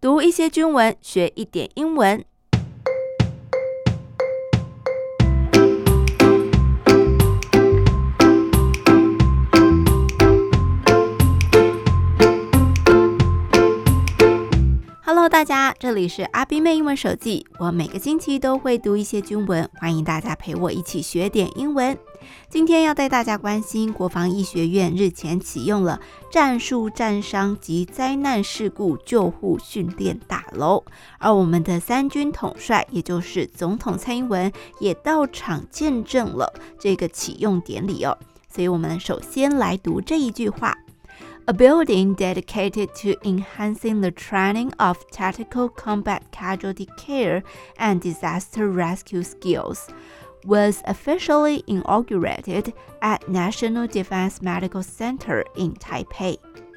讀一些軍文，學一點英文。Hello， 大家，這裡是阿冰妹英文手記。我每個星期都會讀一些軍文，歡迎大家陪我一起學點英文。今天要帶大家關心國防醫學院日前啟用了戰術戰傷及災難事故救護訓練大樓，而我們的三軍統帥，也就是總統蔡英文，也到場見證了這個啟用典禮哦。所以我們首先來讀這一句話。A building dedicated to enhancing the training of tactical combat casualty care and disaster rescue skills was officially inaugurated at National Defense Medical Center in Taipei.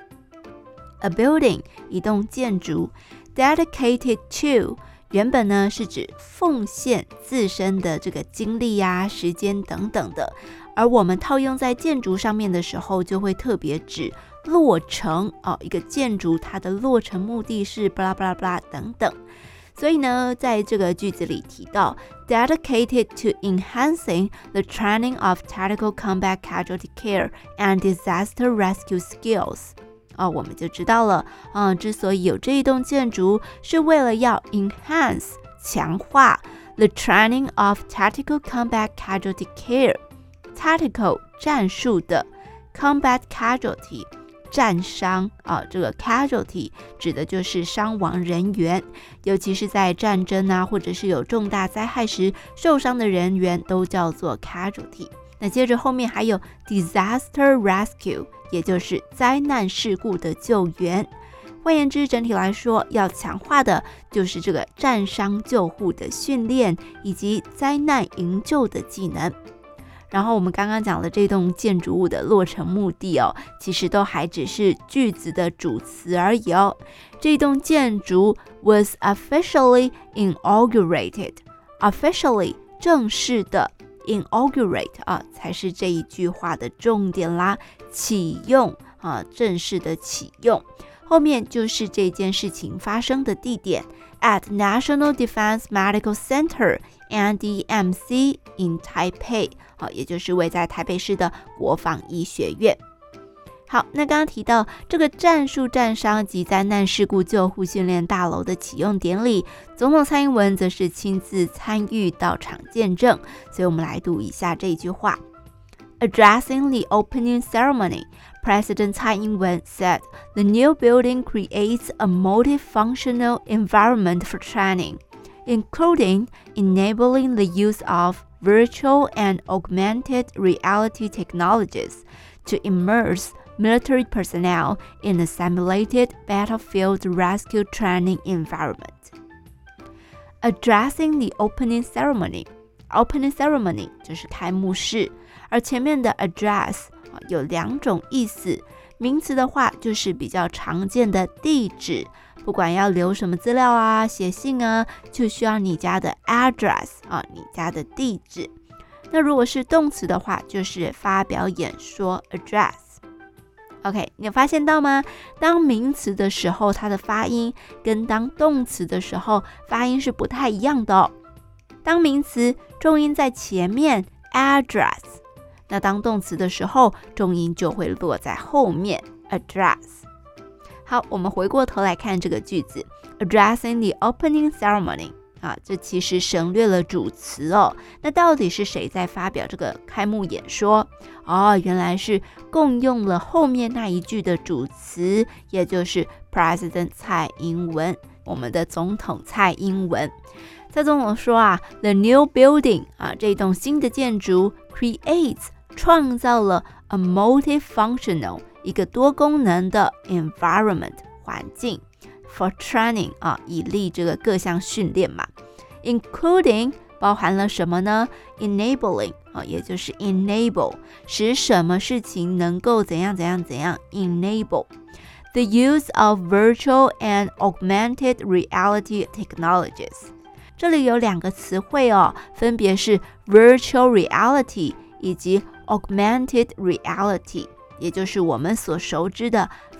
A building, 一棟建築 dedicated to, 原本呢是指奉獻自身的這個精力啊、時間等等的，而我們套用在建築上面的時候，就會特別指落成哦，一個建築它的落成目的是巴拉巴拉巴拉等等。所以呢，在這個句子裡提到 dedicated to enhancing the training of tactical combat casualty care and disaster rescue skills。我們就知道了，之所以有這一棟建築，是為了要 enhance 強化 the training of tactical combat casualty care。tactical 戰術的 combat casualty 戰傷這個 casualty 指的就是傷亡人員，尤其是在戰爭啊，或者是有重大災害時受傷的人員都叫做 casualty。那接着後面還有 disaster rescue， 也就是災難事故的救援。換言之，整體來說，要強化的就是這個戰傷救護的訓練以及災難營救的技能。然後我們剛剛講了這棟建築物的落成目的其實都還只是句子的主詞而已哦。這棟建築 was officially inaugurated， officially 正式的 inaugurate 才是這一句話的重點啦，啟用正式的啟用，後面就是這件事情發生的地點 at National Defense Medical Center NDMC in Taipei， 也就是位在台北市的國防醫學院。好，那剛剛提到這個戰術戰傷及災難事故救護訓練大樓的啟用典禮，總統蔡英文則是親自參與到場見證，所以我們來讀一下這句話。Addressing the opening ceremony, President Tsai Ing-wen said the new building creates a multifunctional environment for training, including enabling the use of virtual and augmented reality technologies to immerse military personnel in a simulated battlefield rescue training environment. Addressing the opening ceremony, 就是開幕式，而前面的 address 有兩種意思，名詞的話就是比較常見的地址，不管要留什麼資料啊、寫信啊，就需要你家的 address 你家的地址。那如果是動詞的話，就是發表演說 address。OK， 你有發現到嗎？當名詞的時候，它的發音跟當動詞的時候發音是不太一樣的哦。當名詞重音在前面 address， 那當動詞的時候重音就會落在後面 address。好，我們回過頭來看這個句子 Addressing the opening ceremony， 這其實省略了主詞哦。那到底是誰在發表這個開幕演說？原來是共用了後面那一句的主詞，也就是 President 蔡英文，我們的總統蔡英文。蔡總統說The new building 這棟新的建築 creates 創造了 a multifunctional 一個多功能的 environment 環境 for training 以利這個各項訓練嘛 including 包含了什麼呢 enabling 也就是 enable 使什麼事情能夠怎樣怎樣怎樣 enable the use of virtual and augmented reality technologies 這裡有兩個詞彙分別是 virtual reality 以及 augmented reality 也就是我們所熟知的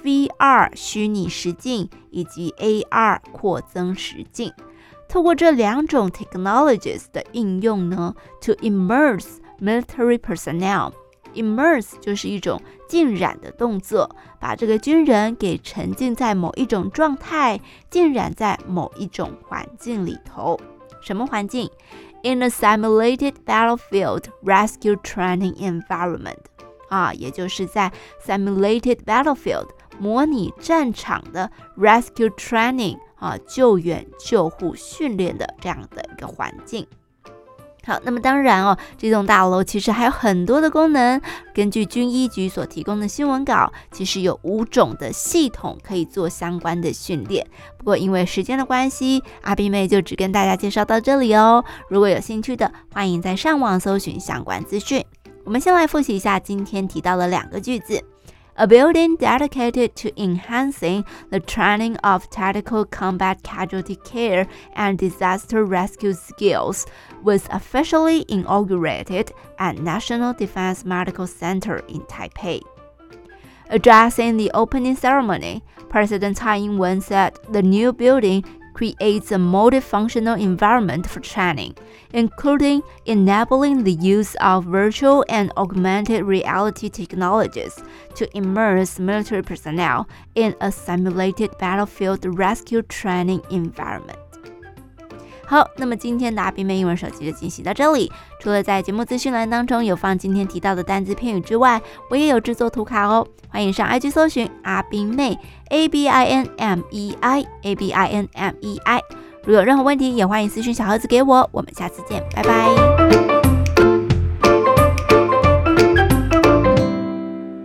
VR 虛擬實境以及 AR 擴增實境。透過這兩種 technologies 的應用呢 ，to immerse military personnel。immerse 就是一種浸染的動作，把這個軍人給沉浸在某一種狀態，浸染在某一種環境裡頭。什麼環境？ In a simulated battlefield rescue training environment。也就是在 simulated battlefield 模擬戰場的 rescue training 救援救護訓練的這樣的一個環境。好，那麼當然這棟大樓其實還有很多的功能。根據軍醫局所提供的新聞稿，其實有5種的系統可以做相關的訓練。不過因為時間的關係，阿斌妹就只跟大家介紹到這裡哦。如果有興趣的，歡迎在上網搜尋相關資訊。我們先來複習一下今天提到的2個句子。A building dedicated to enhancing the training of tactical combat casualty care and disaster rescue skills was officially inaugurated at National Defense Medical Center in Taipei. Addressing the opening ceremony, President Tsai Ing-wen said the new building creates a multifunctional environment for training, including enabling the use of virtual and augmented reality technologies to immerse military personnel in a simulated battlefield rescue training environment. 好，那麼今天的阿斌妹英文手機就進行到這裡。除了在節目資訊欄當中有放今天提到的單字片語之外，我也有製作圖卡哦。歡迎上 IG 搜尋阿斌妹 ABINMEI ABINMEI。如有任何問題，也歡迎私訊小盒子給我。我們下次見，拜拜。